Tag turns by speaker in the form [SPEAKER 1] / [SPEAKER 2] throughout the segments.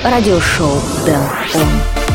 [SPEAKER 1] радиошоу Дэн Он.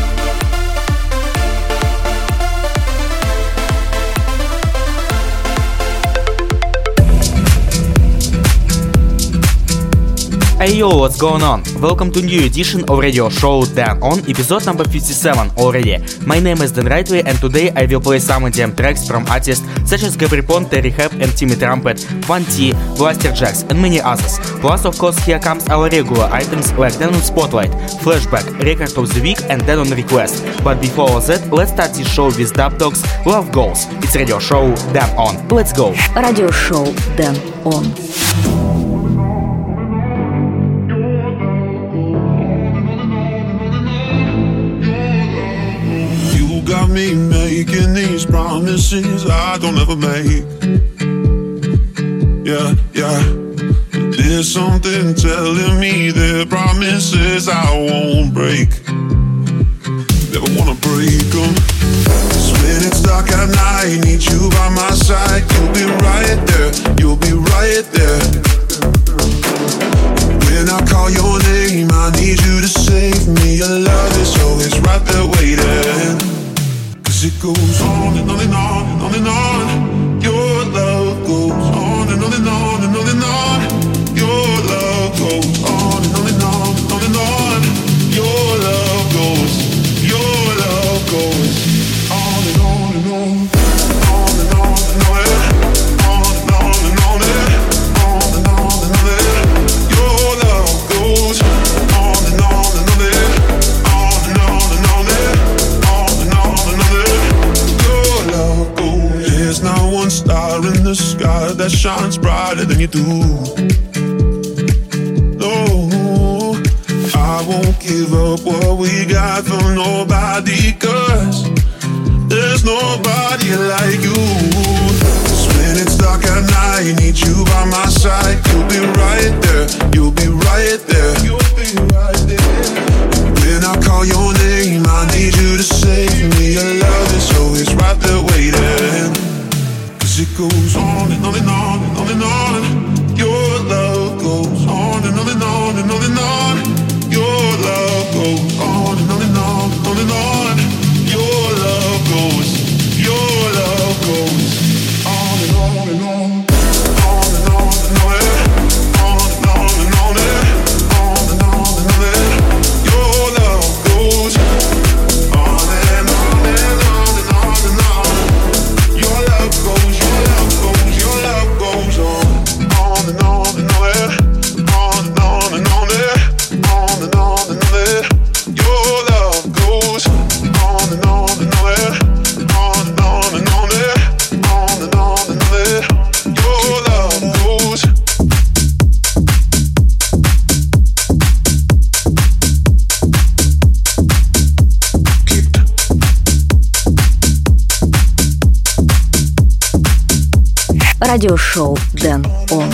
[SPEAKER 2] Hey yo, what's going on? Welcome to new edition of radio show Dan On, episode number 57 already. My name is Dan Rightway and today I will play some EDM tracks from artists such as Gabry Ponte, Terry Hebb and Timmy Trumpet, Van T, Blasterjaxx and many others. Plus of course here comes our regular items like Dan On Spotlight, Flashback, Record of the Week and Dan On Request. But before all that, let's start this show with Dub Dogs, Love Goals. It's radio show Dan On. Let's go!
[SPEAKER 1] Радиошоу Dan On.
[SPEAKER 3] Got me making these promises I don't ever make. Yeah. There's something telling me they're promises I won't break. Never wanna break them. 'Cause when it's dark at night, need you by my side. You'll be right there, you'll be right there. When I call your name, I need you to save me. Your love is always right there waiting. It goes on and on and on and on and on. Your love goes on and on and on and on and on. Your love goes on and on and on and on and on. Your love goes on and on and on. On and on and on it. On and on and on it. On and on and on it. Your love goes on and on and on it. On and on and on it. On and on and on it. There's not one star in the sky that shines brighter than you do. No, I won't give up what we got from nobody, 'cause there's nobody like you. 'Cause when it's dark at night, need you by my side. You'll be right there, you'll be right there. You'll be right there. When I call your name, I need you to save me. Your love is always right there waiting. 'Cause it goes on and on and on and on and on. Your love goes on and on and on and on and on. Your love goes on and on and on and on and on. Your love goes on and on and on. On and on and on it. On and on and on it. On and on and on it. Your love goes on and on and on and on and on. Your love goes on and on and on it. On and on and on it. On and on and on it. Your love goes on and on and on it. On and on and on it. On and on and on it. Your love goes.
[SPEAKER 1] Радиошоу Dan On.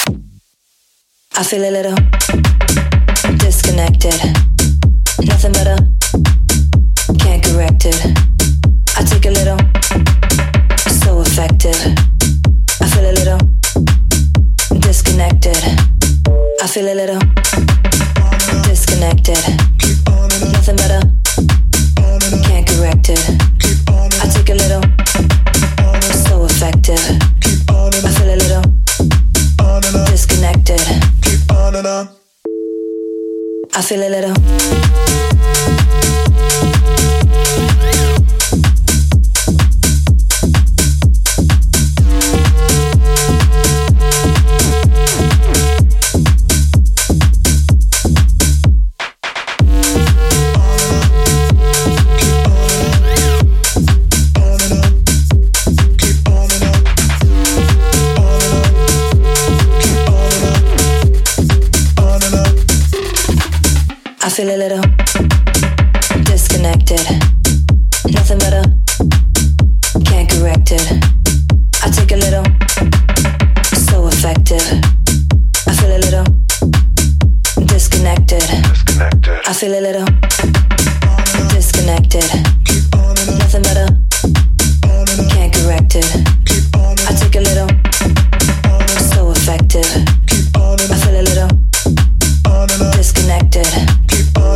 [SPEAKER 4] I feel a little disconnected. Nothing better, can't correct it. I take a little, so effective. I feel a little disconnected. I feel a little disconnected. Nothing better, can't correct it. I take a little, so effective. I feel a little disconnected. I feel a little. I feel a little disconnected. Nothing better, can't correct it. I take a little, so effective. I feel a little disconnected. I feel a little disconnected. Nothing better, can't correct it. I take a little, so effective. I feel a little disconnected.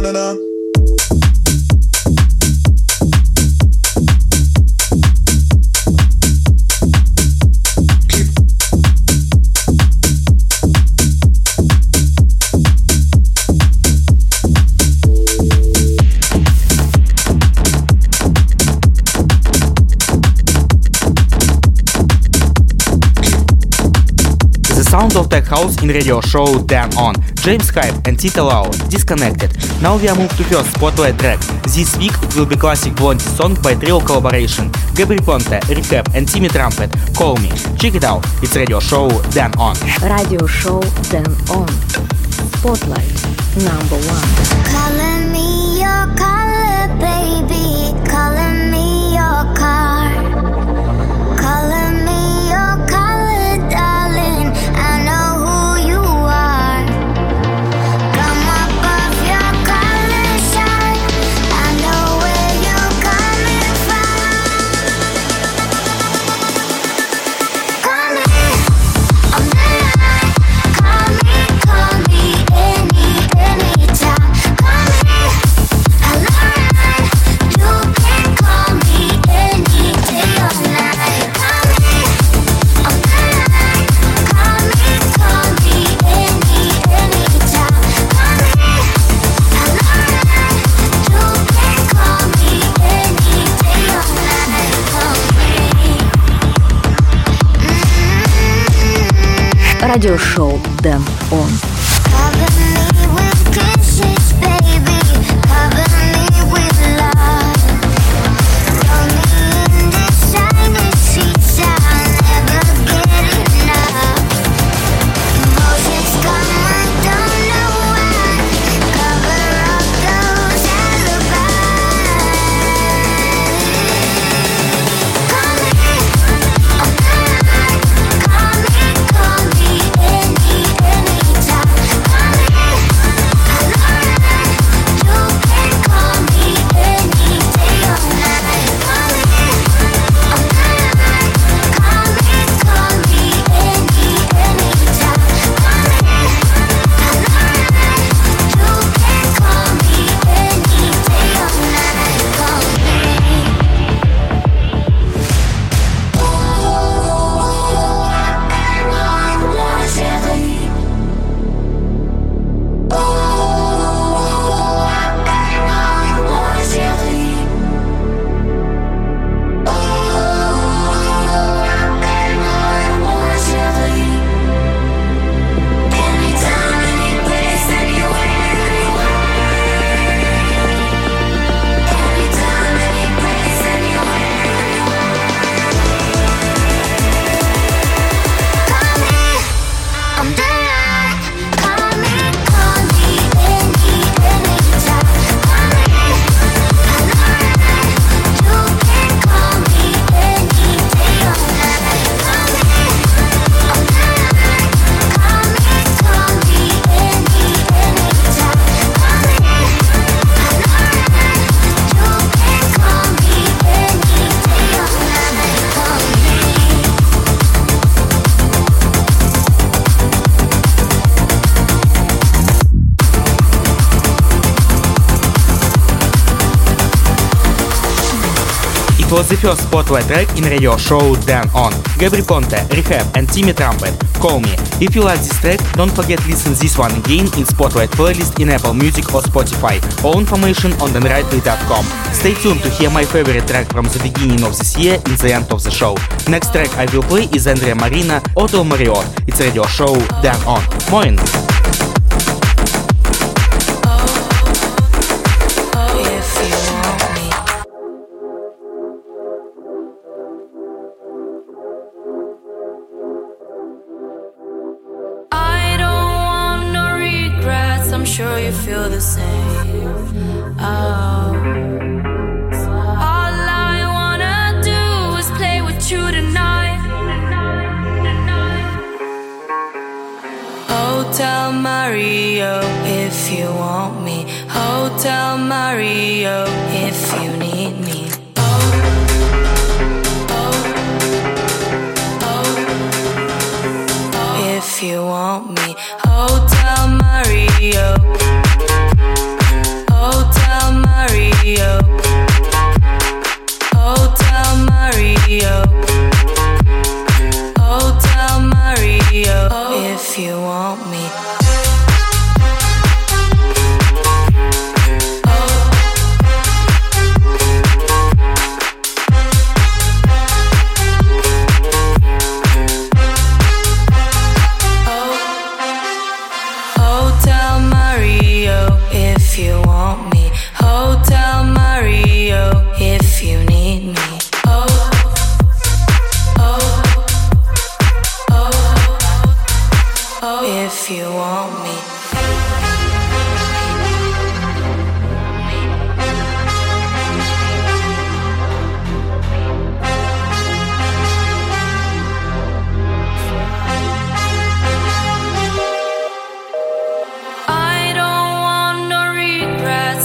[SPEAKER 2] Sound of Tech House in radio show Dan On. James Hype and Tita Lau, Disconnected. Now we are moved to first spotlight track. This week it will be classic Blondie song by trio collaboration Gabry Ponte, Rehab and Timmy Trumpet, Call Me. Check it out, it's radio show Dan On.
[SPEAKER 1] Radio show Dan On. Spotlight number 1.
[SPEAKER 5] Calling me your color, baby. Calling me your car. Calling me your color, darling. I know who you are. Come up off your color shine. I know where you're coming from. Call me on the line. Call me anytime. Call me a line. You can call me any day or night. Call me on the line. Call me anytime. Call me a line. You can call me any day or night. Call me.
[SPEAKER 1] Радиошоу Dan On.
[SPEAKER 5] Cover me with kisses, baby. Cover me with love. Throw me in the shiny sheets. I'll never get enough. Emotions come, I don't know why. Cover up those alibis. Call me on the line. Call me anytime. Call me a line. You can call me any day or night. Call me on the line. Call me anytime. Call me a line. You can call me any day or night. Call
[SPEAKER 2] It was the first spotlight track in radio show Dan On. Gabry Ponte, Rehab and Timmy Trumpet, Call Me. If you like this track, don't forget to listen this one again in Spotlight playlist in Apple Music or Spotify. All information on danrightway.com. Stay tuned to hear my favorite track from the beginning of this year in the end of the show. Next track I will play is Andrea Marina, Hotel Marriott. It's radio show Dan On. Moin!
[SPEAKER 6] I'm sure you feel the same. Oh. All I wanna do is play with you tonight. Hotel Mario, if you want me. Hotel Mario, if you need me. If you want me. Hotel Mario.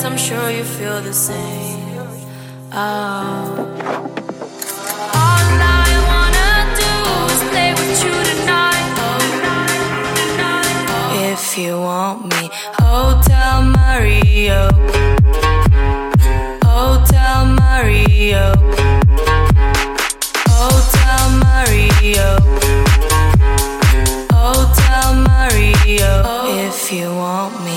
[SPEAKER 6] I'm sure you feel the same. Oh. All I wanna do is play with you tonight. If you want me, Hotel Mario, Hotel Mario, Hotel Mario, Hotel Mario. If you want me.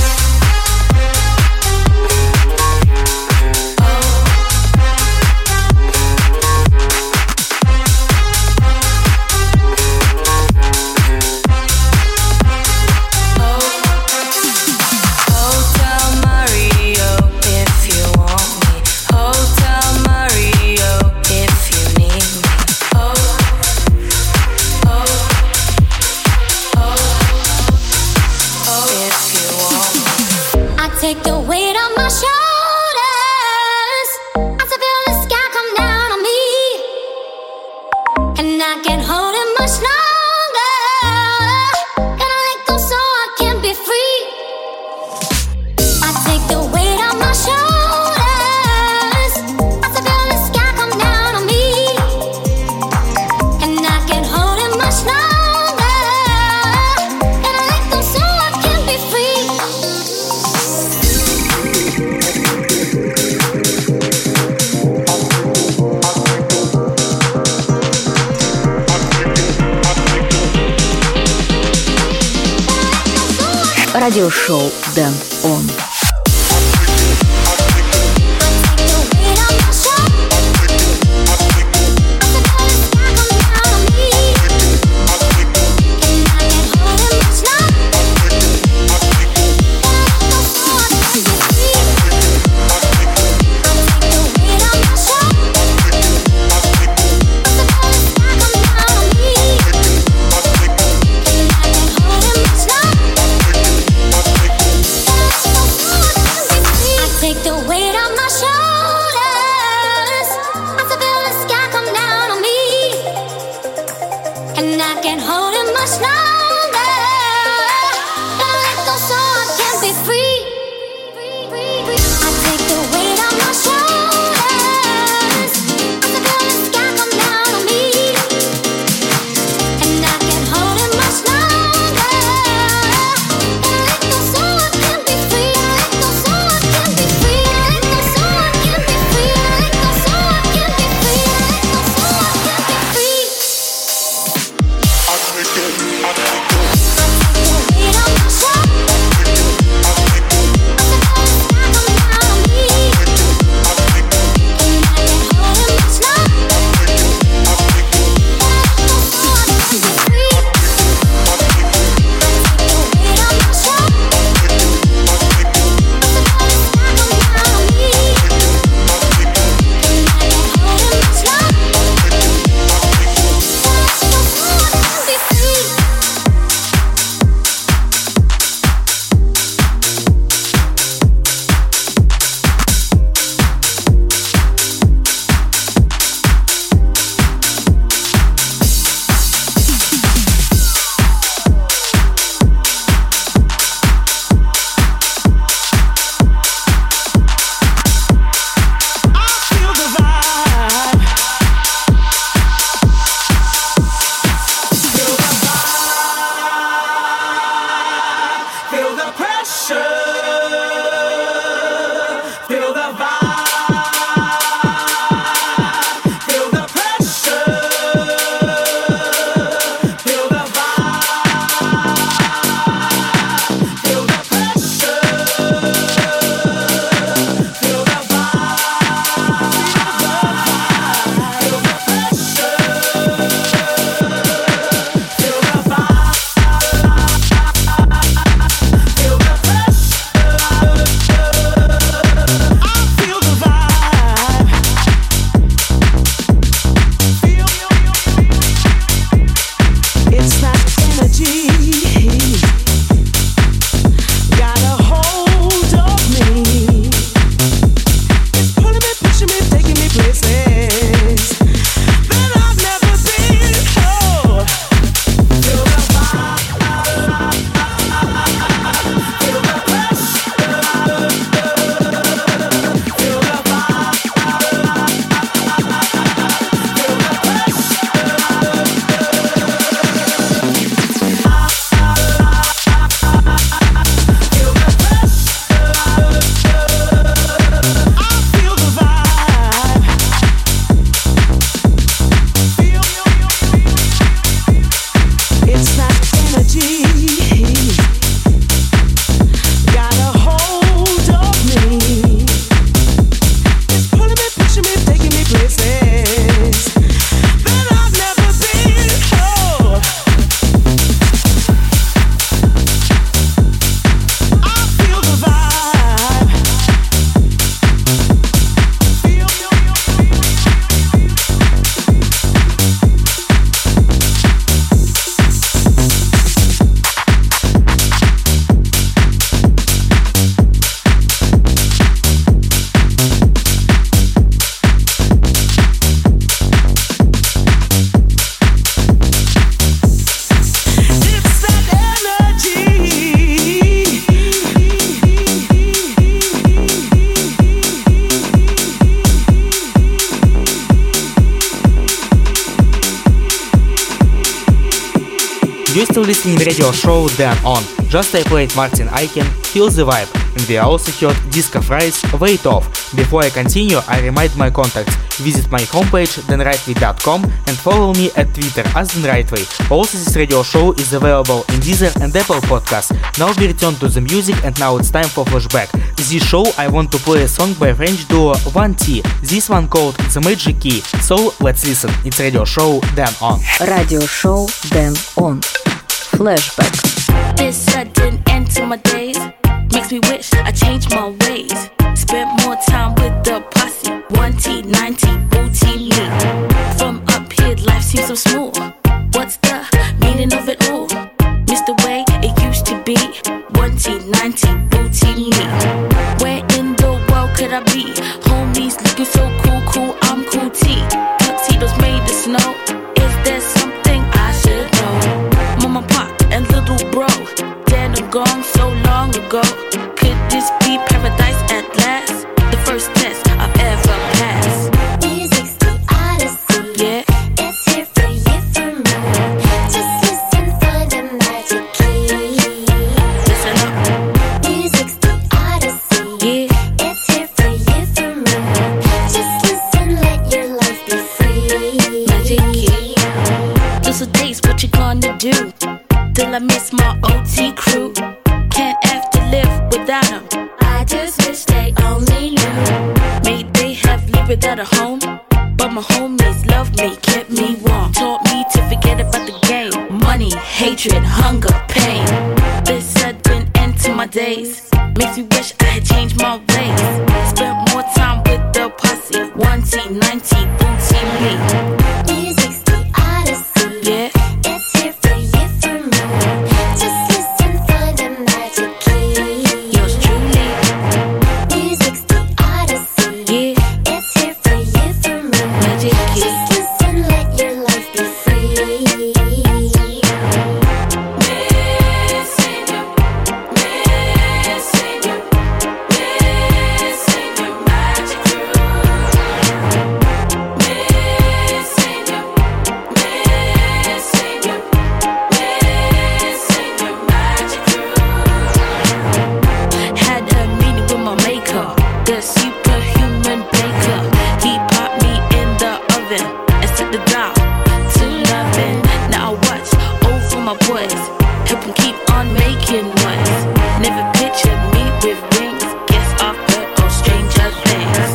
[SPEAKER 5] Take the weight on my shoulders. I still feel the sky come down on me, and I can't hold it much longer. Gotta let go so I can be free. I take the weight on my shoulders. I still feel the sky come down on me, and I can't hold it much longer. Gotta let go so I can be free.
[SPEAKER 1] Радиошоу Дэн Он.
[SPEAKER 5] We'll be right back.
[SPEAKER 2] still listening radio show Dan On. Just I played Martin Aiken, Feel the Vibe, and we also heard Disco Fries, Wait Off. Before I continue, I remind my contacts. Visit my homepage danrightway.com and follow me at Twitter as danrightway. Also, this radio show is available in Deezer and Apple Podcasts. Now we return to the music and now it's time for flashback. This show I want to play a song by French duo 1T. This one called The Magic Key. So let's listen. It's radio show Dan On.
[SPEAKER 1] Radio show Dan On. Flashback.
[SPEAKER 6] This sudden end to my days makes me wish I changed my ways. Spent more time with the posse. 1T, 9T, booty me. From up here, life seems so smooth. What's the meaning of it all? Miss the way it used to be. 1T, 9T, booty me. Where in the world could I be? Homies looking so cool, I'm cool T. Tuxedos made of snow. Is there something I should know? Mama, pop, and little bro, dead and gone so long ago. Could this be paradise at last? The first test I've ever passed.
[SPEAKER 5] Music's the odyssey.
[SPEAKER 6] Yeah.
[SPEAKER 5] It's here for you, for me. Just listen for the magic key.
[SPEAKER 6] Listen up.
[SPEAKER 5] Music's the odyssey.
[SPEAKER 6] Yeah.
[SPEAKER 5] It's here for you, for me. Just listen, let your life be free.
[SPEAKER 6] Magic key. Those are days, what you gonna do? Till I miss my OT crew. Can't have to live without them.
[SPEAKER 5] I just wish they only knew.
[SPEAKER 6] May they have lived without a home, but my homies loved me, kept me warm. Taught me to forget about the game. Money, hatred, hunger, pain. This sudden end to my days makes me wish I had changed my ways. Spent more time with the posse. 1T, 9T, booty me.
[SPEAKER 5] Music's the odyssey.
[SPEAKER 6] Yeah.
[SPEAKER 5] It's here for you, for me. Just listen for the magic key.
[SPEAKER 6] Yours truly.
[SPEAKER 5] Music's the odyssey.
[SPEAKER 6] Yeah.
[SPEAKER 5] It's here for you, for me.
[SPEAKER 6] Magic key.
[SPEAKER 5] Just listen, let your life be free.
[SPEAKER 6] Missing you, missing you, missing your magic groove. Missing you, missing you, missing your magic groove. Had a meeting with my maker, the superhuman baker. He popped me in the oven and set the dial to loving. Now I watch over my boys, help them keep on making noise. Never pictured me with rings. Guess I've heard all stranger things.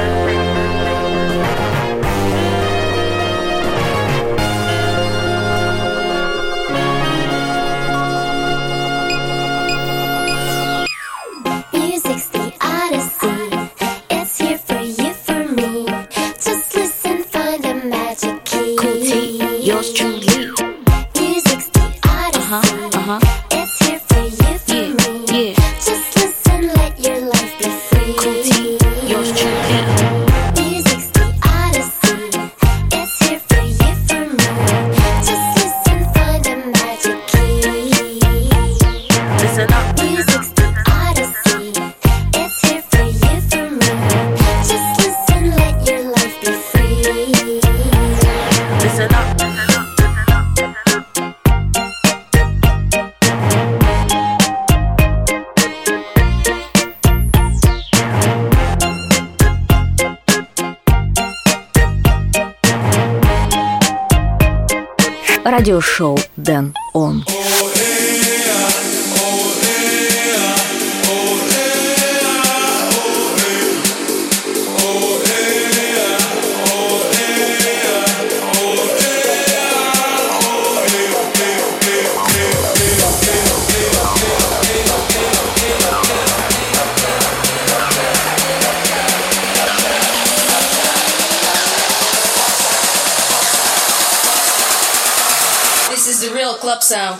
[SPEAKER 5] Music's the odyssey. It's here for you, for me. Just listen for the magic key.
[SPEAKER 6] Cool T, yours truly.
[SPEAKER 5] Music's the odyssey. It's here for you, for
[SPEAKER 6] Yeah,
[SPEAKER 5] me.
[SPEAKER 6] yeah.
[SPEAKER 5] Just listen, let your life be free.
[SPEAKER 6] Cool T, yours truly.
[SPEAKER 5] Music's the odyssey. It's here for you, for me. Just listen for the magic key.
[SPEAKER 6] Listen up.
[SPEAKER 5] Music's the odyssey. It's here for you, for me. Just listen, let your life be free.
[SPEAKER 6] Listen up.
[SPEAKER 1] Радиошоу Dan On.
[SPEAKER 7] This is the real club sound.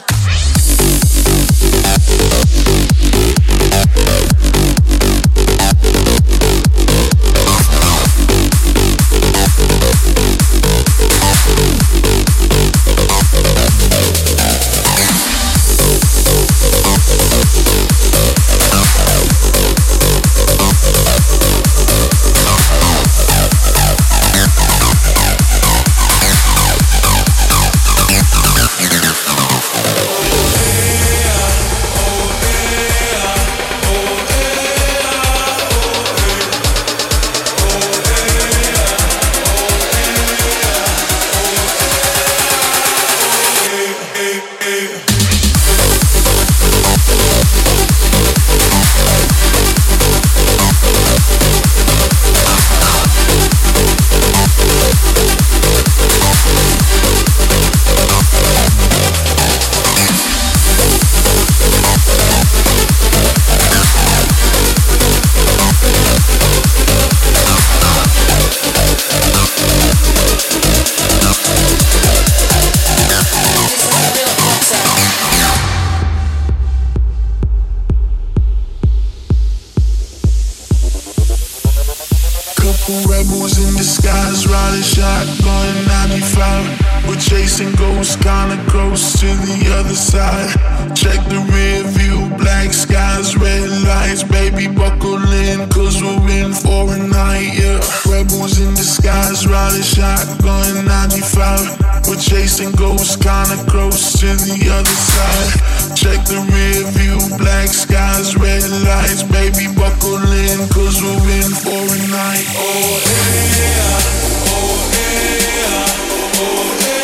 [SPEAKER 3] Rebels in disguise, riding shotgun 95. We're chasing ghosts, kinda close to the other side. Check the rear view, black skies, red lights. Baby, buckle in, cause we're in for a night, yeah. Rebels in disguise, riding shotgun 95. We're chasing ghosts, kinda close to the other side. Check the rear view, black skies, red lights. Baby, buckle in, cause we're in for a night. Oh yeah, oh yeah, oh yeah.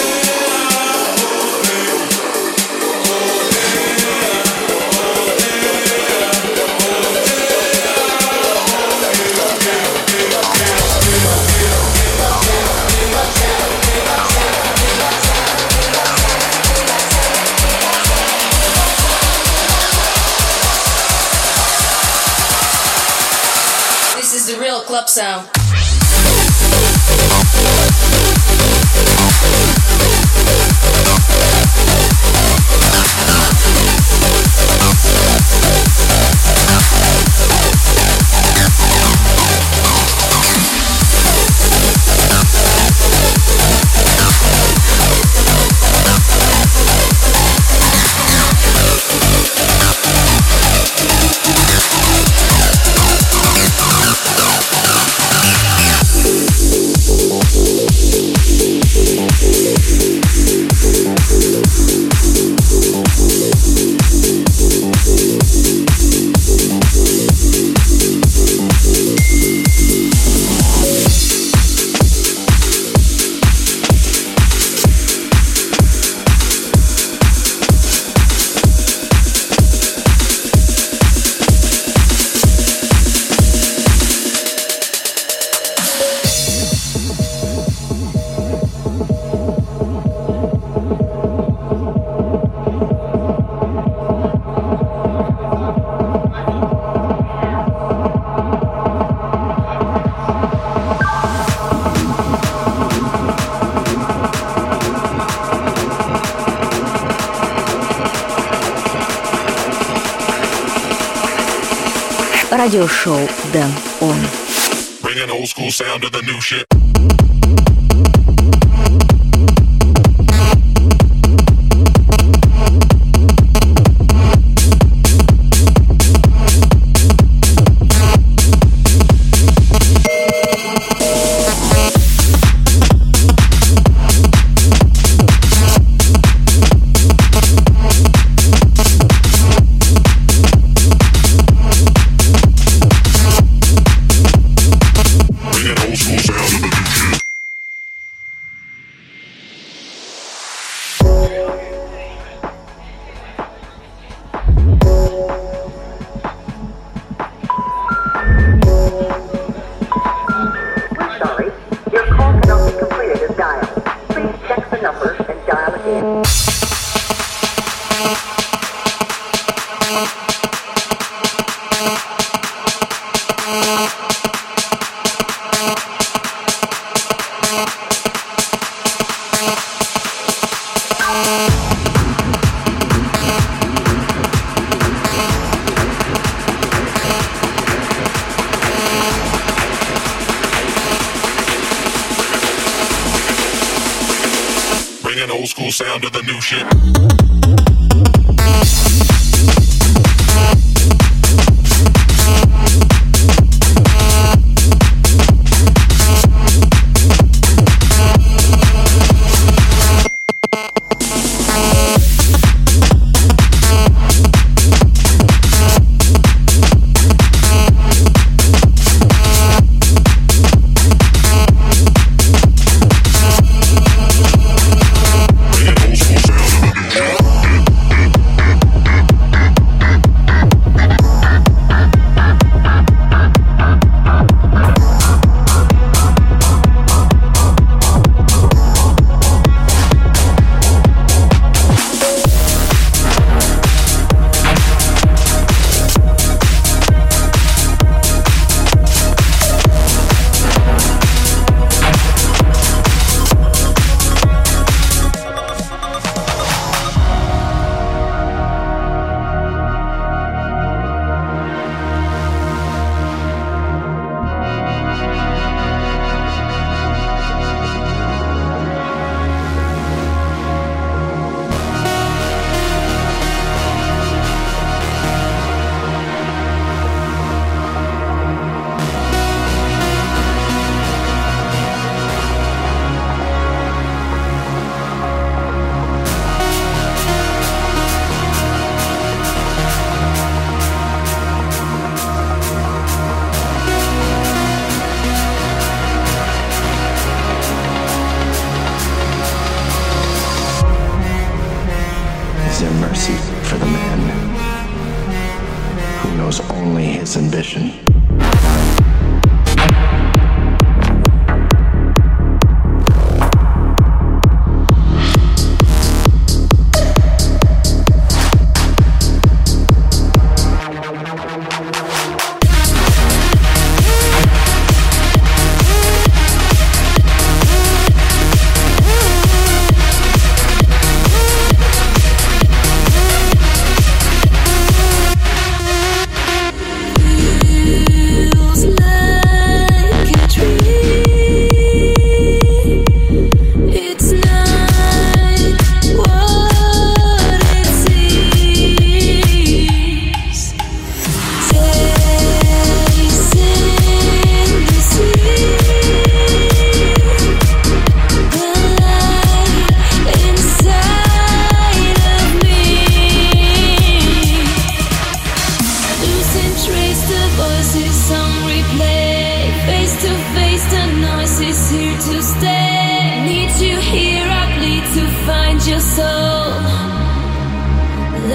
[SPEAKER 7] Club sound.
[SPEAKER 1] Радиошоу Дэн Он.
[SPEAKER 3] Bringing old school sound to the new shit. Bringing old school sound to the new shit. Bringing old school sound to the new shit.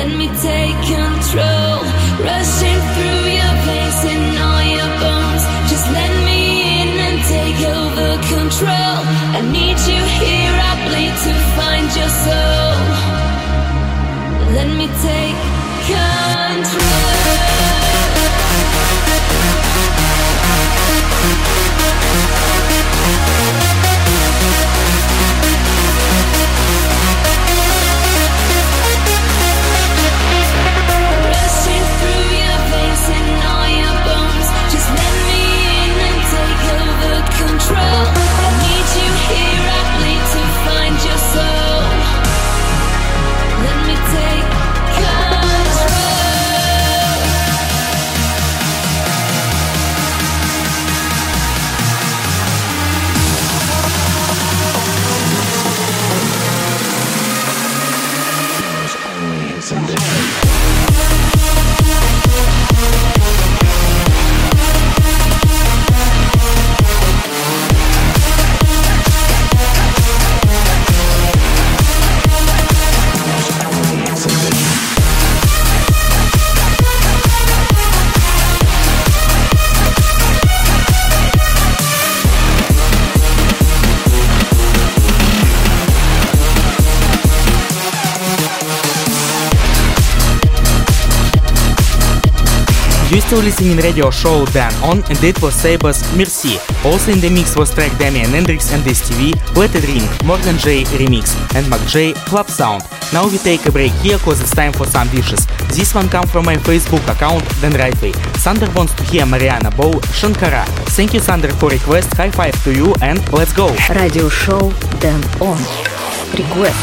[SPEAKER 4] Let me take control, rushing through your veins and all your bones. Just let me in and take over control. I need you here, I bleed to find your soul. Let me take control. Rushing through your veins and all your bones. Just let me in and take over control. I need you here, I bleed to find your soul. Let me take control.
[SPEAKER 2] You still listening radio show Dan On, and it was Saber's Merci. Also in the mix was track Damian Hendrix and STV, Let It Ring, Morgan J Remix, and Mac J Club Sound. Now we take a break here cause it's time for some wishes. This one comes from my Facebook account Dan Rightway. Sander wants to hear Mariana Bow, Shankara. Thank you Sander for request, high five to you and let's go!
[SPEAKER 1] Радиошоу Dan On. Request.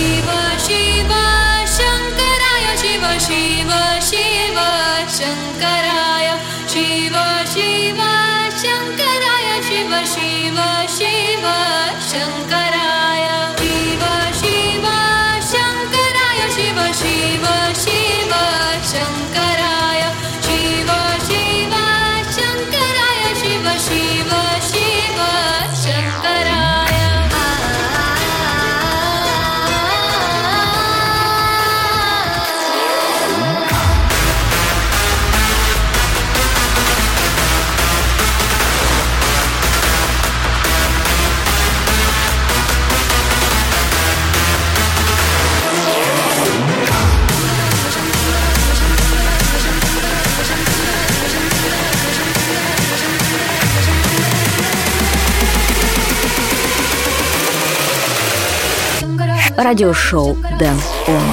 [SPEAKER 4] Shankaraya, Shiva, Shiva, Shankaraya, Shiva, Shiva, Shiva, Shankaraya, Shiva, Shiva, Shankaraya, Shiva, Shiva, Shiva, Shankaraya, Shiva, Shiva, Shankaraya, Shiva, Shiva, Shiva, Shankaraya.
[SPEAKER 1] Радиошоу Dan On.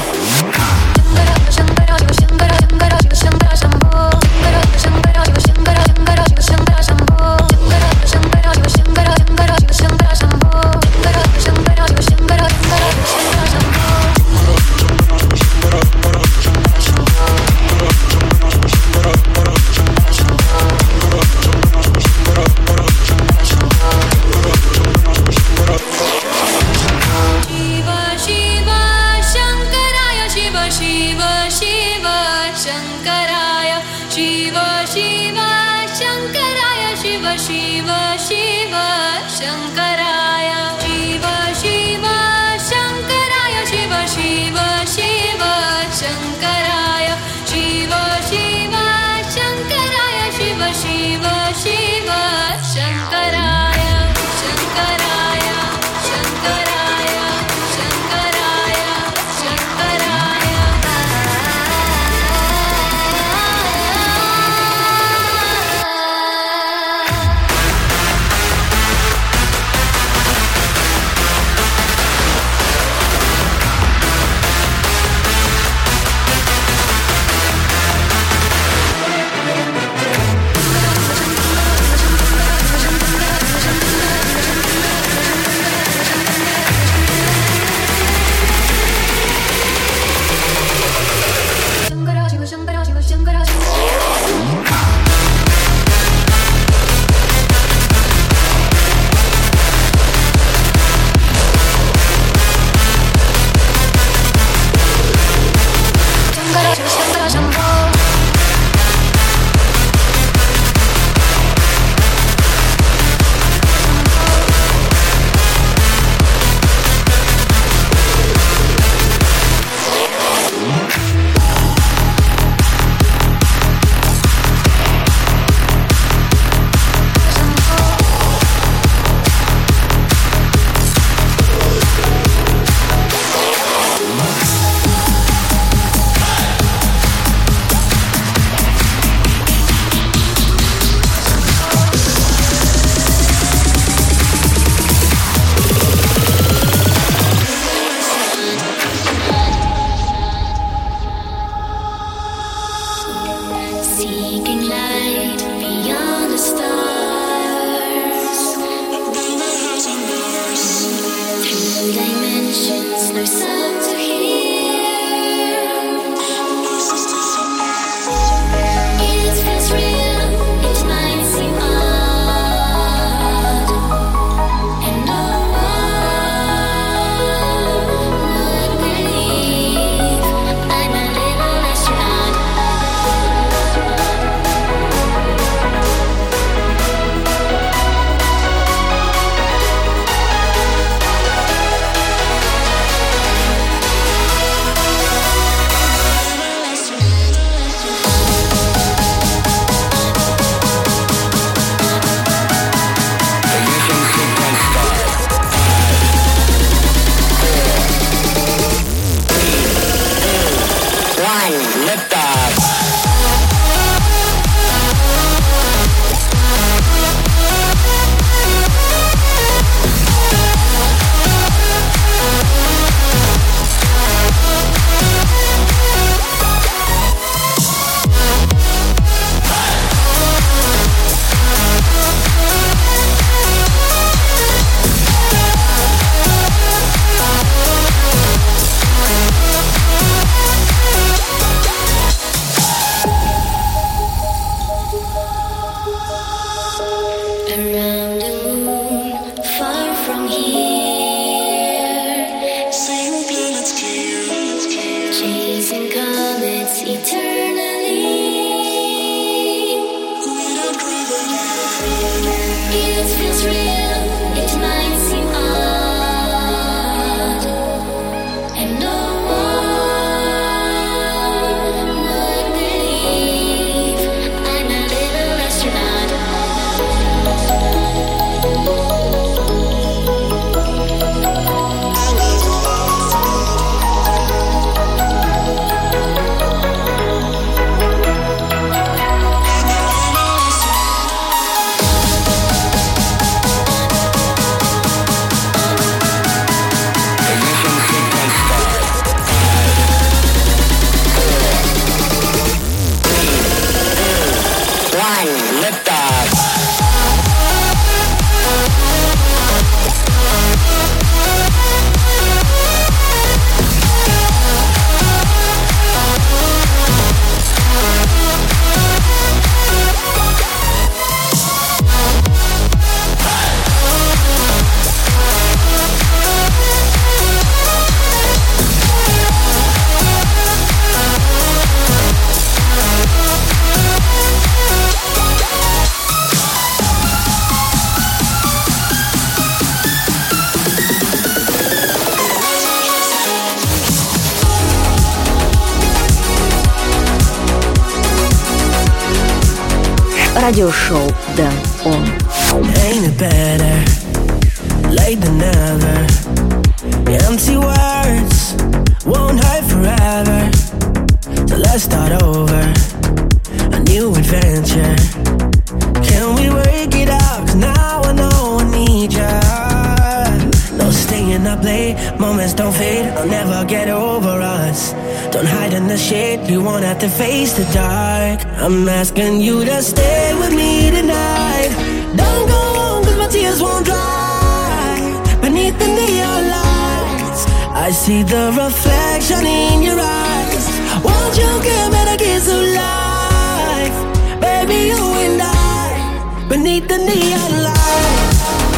[SPEAKER 1] Радиошоу Дэн Он.
[SPEAKER 8] Ain't it better late than never? Empty words won't hurt forever. So let's start over a new adventure. Can we work it out? 'Cause now I know I need ya. No staying up late, moments don't fade. I'll never get over us. Don't hide in the shade, you won't have to face the dark. I'm asking you to stay with me tonight. Don't go home 'cause my tears won't dry. Beneath the neon lights, I see the reflection in your eyes. Won't you give me the kiss of life? Baby, you and I, beneath the neon lights.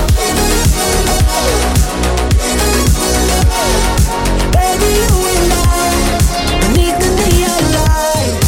[SPEAKER 8] Baby, you and I, beneath the neon lights.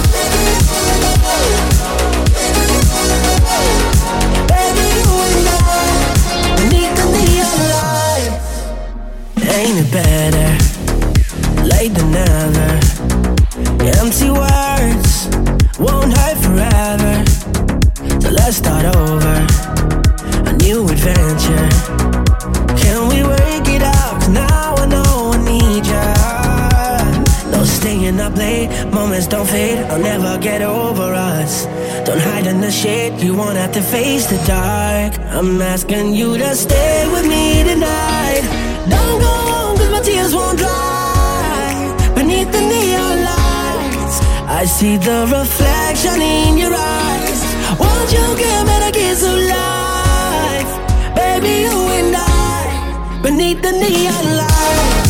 [SPEAKER 8] Baby, you and I, beneath the neon lights. Ain't it better late than never? Empty words won't hurt forever. So let's start over a new adventure. Can we work it out? 'Cause now I know I need ya. No staying up late, moments don't fade. I'll never get over us. Don't hide in the shade, you won't have to face the dark. I'm asking you to stay with me tonight. Don't go home 'cause my tears won't dry. Beneath the neon lights, I see the reflection in your eyes. Won't you give me the kiss of life? Baby, you and I, beneath the neon lights.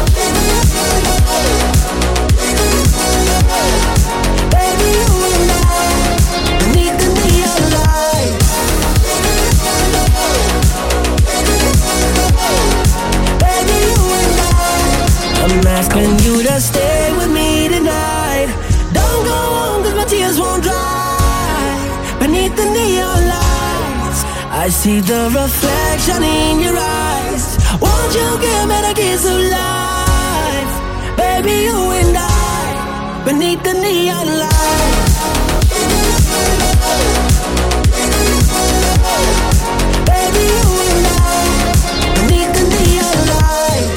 [SPEAKER 8] Baby, you and I, beneath the neon lights. Baby, you and I, I'm asking you to stay with me tonight. Don't go home 'cause my tears won't dry. Beneath the neon lights, I see the reflection in your eyes. Won't you give me the kiss of life? Baby, you and I, beneath the neon lights. Baby, you and I, beneath the neon lights.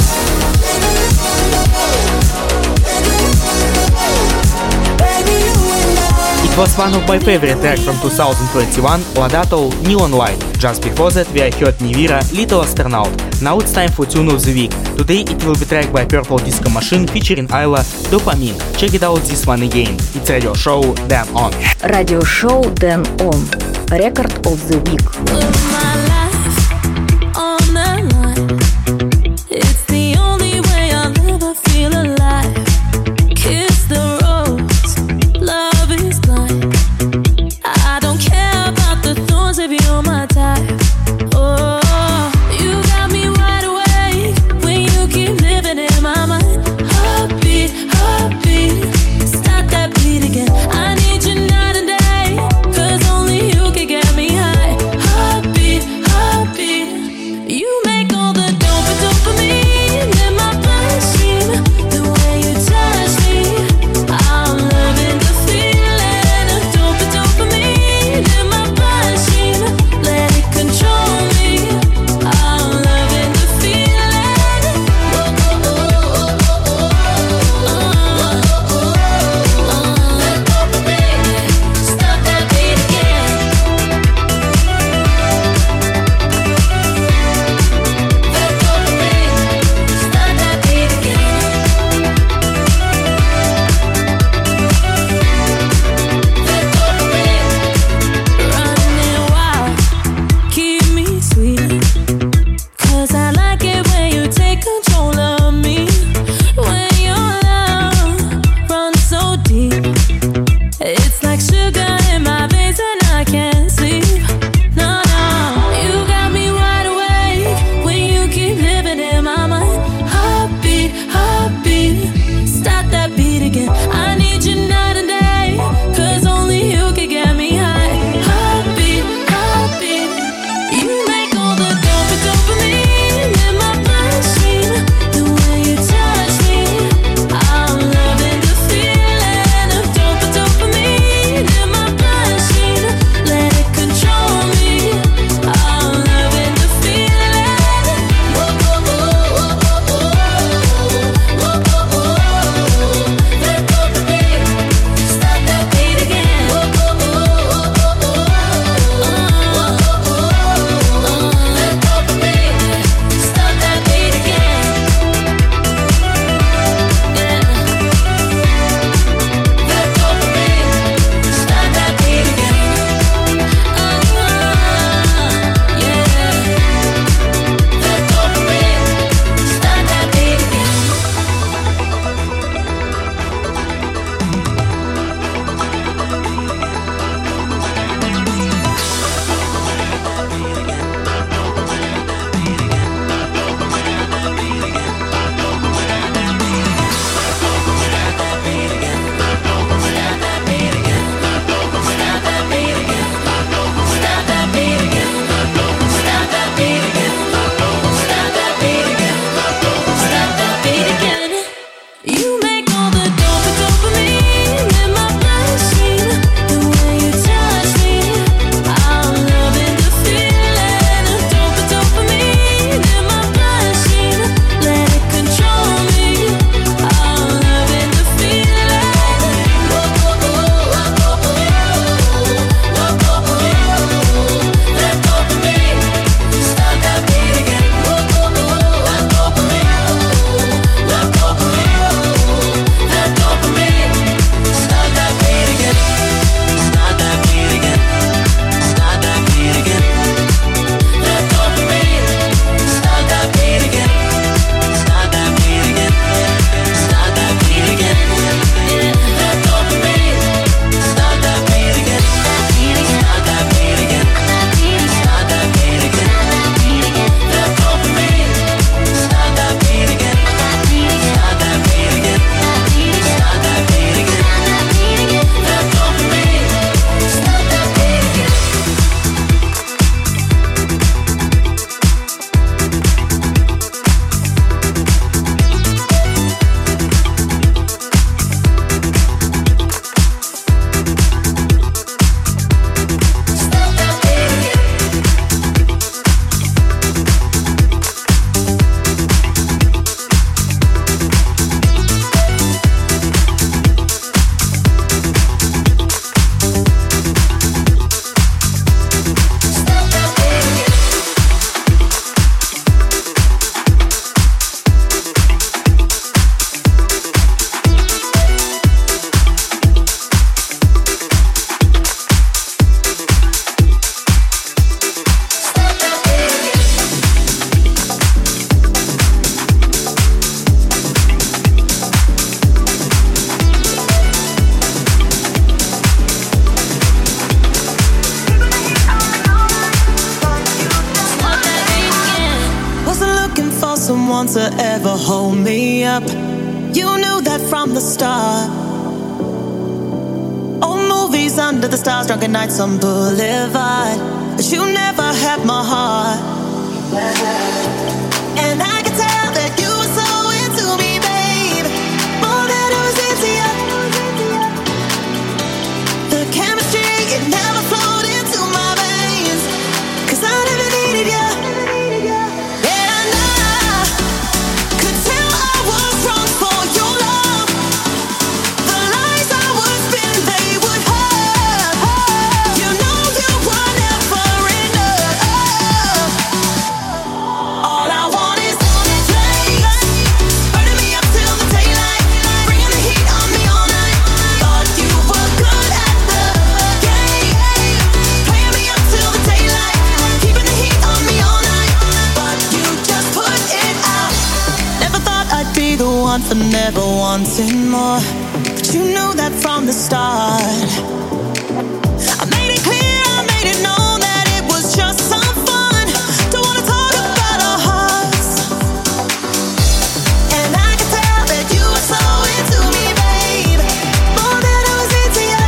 [SPEAKER 8] Baby, you and I.
[SPEAKER 2] It was one of my favorite tracks from 2021, Ladato, Neon Light. Just before that we heard Nivira, Little Astronaut. Now it's time for Tune of the Week. Today it will be tracked by Purple Disco Machine featuring Ayla, Dopamine. Check it out this one again. It's radio show Dan On.
[SPEAKER 1] Радиошоу Дэн Он. Record of the Week.
[SPEAKER 6] Put my life on the line. It's the only way I'll ever feel alive. Kiss the rose, love is blind. I don't care about the thorns if you're my type. Oh, you got me wide awake when you keep living in my mind. Heartbeat, heartbeat, start that beat again. I need you night and day, 'cause only you can get me high. Heartbeat,
[SPEAKER 8] someone to ever hold me up. You knew that from the start. Old movies under the stars, drunken nights on Boulevard. But you never had my heart. And I could tell that you were so into me, babe. More than I was into you. The chemistry, it never flowed into my veins. 'Cause I never needed you. And I could tell I was wrong for your love. The lies I was spinning, they would hurt. You know you were never enough. All I want is flames, burning me up till the daylight, bringing the heat on me all night. Thought you were good at the game, playing me up till the daylight, keeping the heat on me all night. But you just put it out. Never thought I'd be the one for never wanting more, but you knew that from the start. I made it clear, I made it known that it was just some fun. Don't wanna talk about our hearts. And I could tell that you were so into me, babe. More than I was into you.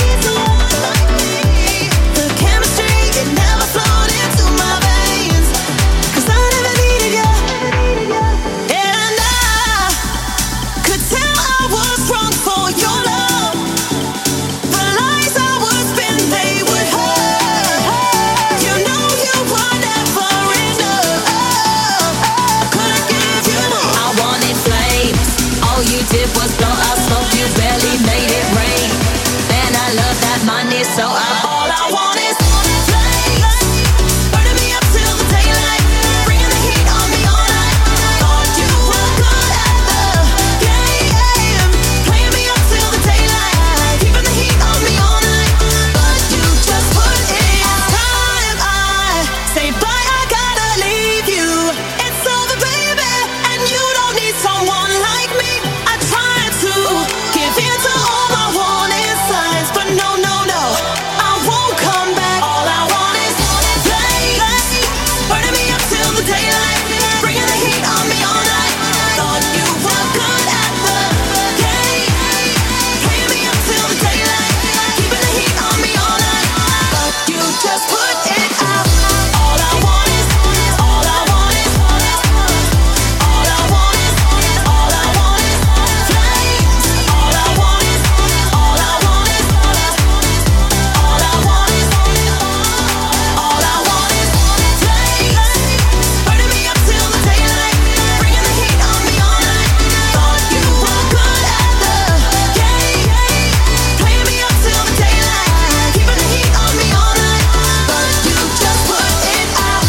[SPEAKER 8] The chemistry, it never flowed into my veins. 'Cause I never needed you. And I could tell I was wrong for your love. The lies I was spinning, they would hurt. You know you were never enough. Couldn't give you more.
[SPEAKER 4] I wanted flames. All you did was blow out smoke. You barely made it rain. Man, I love that money, so
[SPEAKER 8] All I want is flames, burning me up till the daylight, bringing the heat on me all night. Thought you were good at the game, playing me up till the daylight, keeping the heat on me all night. But you just put it out. Time I say bye, I gotta leave you. It's over, baby, and you don't need someone like me. I tried to give in to all my warning signs, but no, no, no, I won't come back. All I want is flames, burning me up till the daylight, bringing the heat on me all night. Thought you were good at the game, playing me up till the daylight, keeping the heat on me all night. But you just put it out. All I want is, all I want is, all I want is, all I want is flames. All I want is, all I want is, all I want is, all I want is flames, burning me up till the daylight, bringing the heat on me all night. Thought you were good at the game, playing me up till the daylight, keeping the heat on me all night. But you just put it out.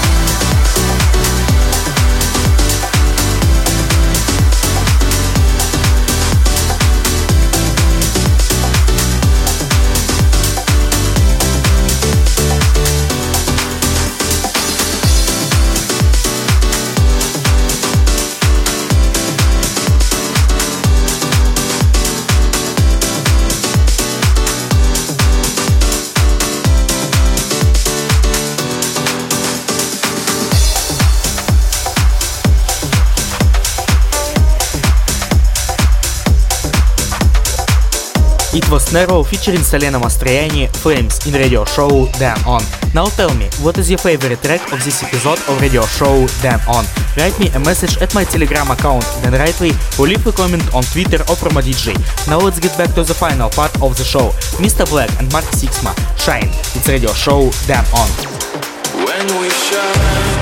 [SPEAKER 2] It was Nero featuring Selena Mastroianni, Flames in radio show Dan On. Now tell me, what is your favorite track of this episode of radio show Dan On? Write me a message at my Telegram account Dan Rightway or leave a comment on Twitter or Promo DJ. Now let's get back to the final part of the show. Mr. Black and Mark Sixma, Shine. It's radio show Dan On.
[SPEAKER 9] When we shine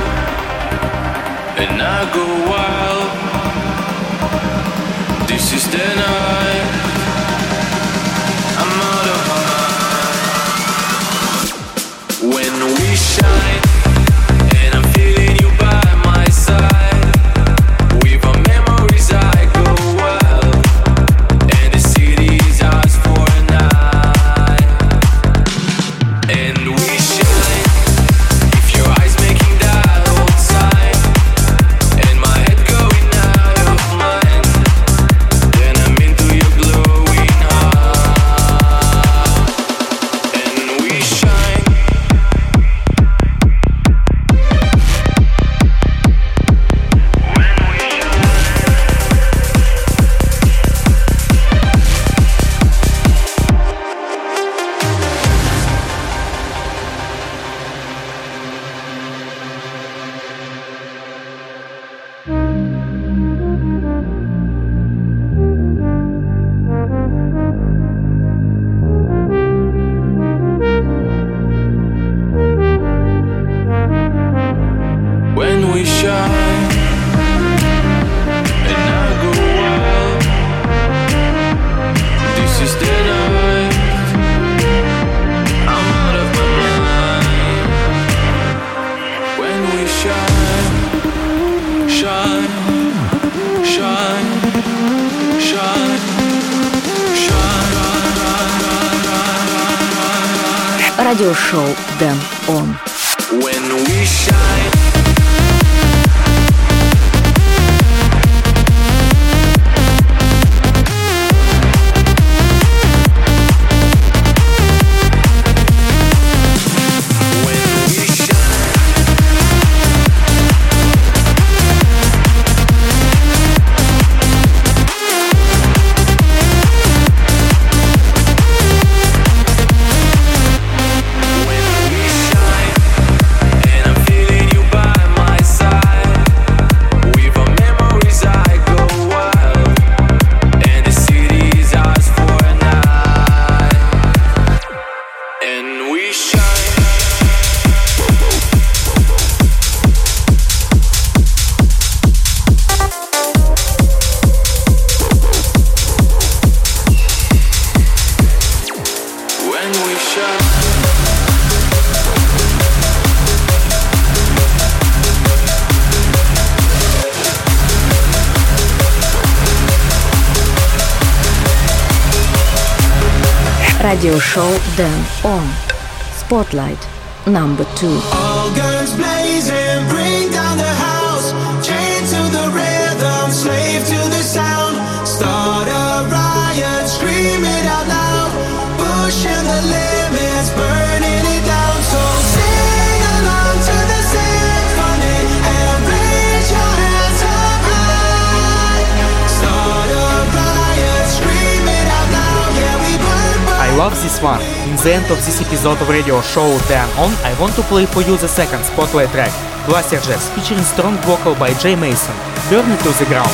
[SPEAKER 9] and I go wild, this is the night I'm out of my mind. When we shine and I'm feeling you by my side, with our memories I go wild, and the city is ours for a night. And we shine. If your eyes making that old sign, and my head going out of mind, then I'm into your glowing heart. And we shine. shine, and I go wild. This is the night, I'm out of my mind. When we shine, shine, shine, shine, shine.
[SPEAKER 1] Радиошоу Дэн Он.
[SPEAKER 9] When we shine.
[SPEAKER 1] Радиошоу Дэн Он. Spotlight number 2.
[SPEAKER 8] All guns blazing, bring down the house. Chain to the rhythm, slave to the sound. Start a riot, scream it out loud. Pushing the limits, burning it down. So sing along to the symphony and raise your hands up high. Start a riot, scream it out loud. Yeah, we burn, burn.
[SPEAKER 2] I love this one. In the end of this episode of radio show Dan On, I want to play for you the second spotlight track, Glacier Jazz, featuring strong vocal by Jay Mason, Burn It to the Ground.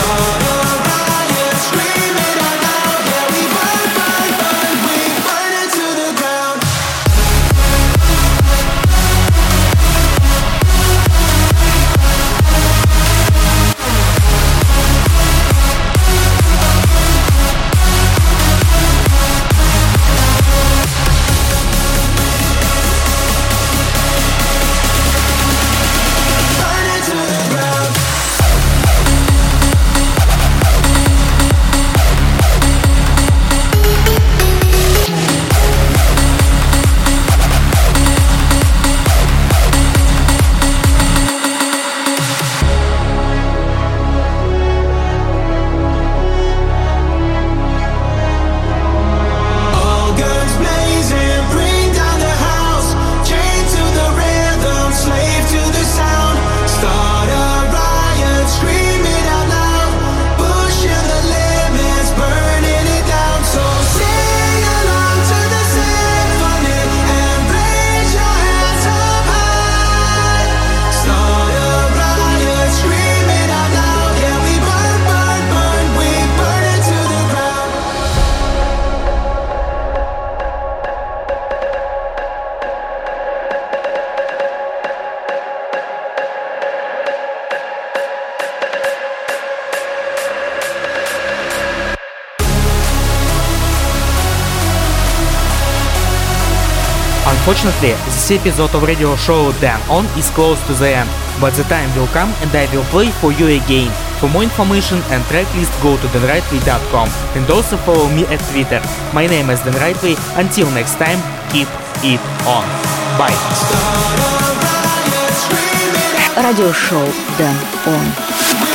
[SPEAKER 2] Unfortunately, this episode of radio show Dan On is close to the end, but the time will come and I will play for you again. For more information and tracklist, go to danrightway.com and also follow me at Twitter. My name is Dan Rightway. Until next time, keep it on. Bye.
[SPEAKER 1] Радиошоу Дэн Он.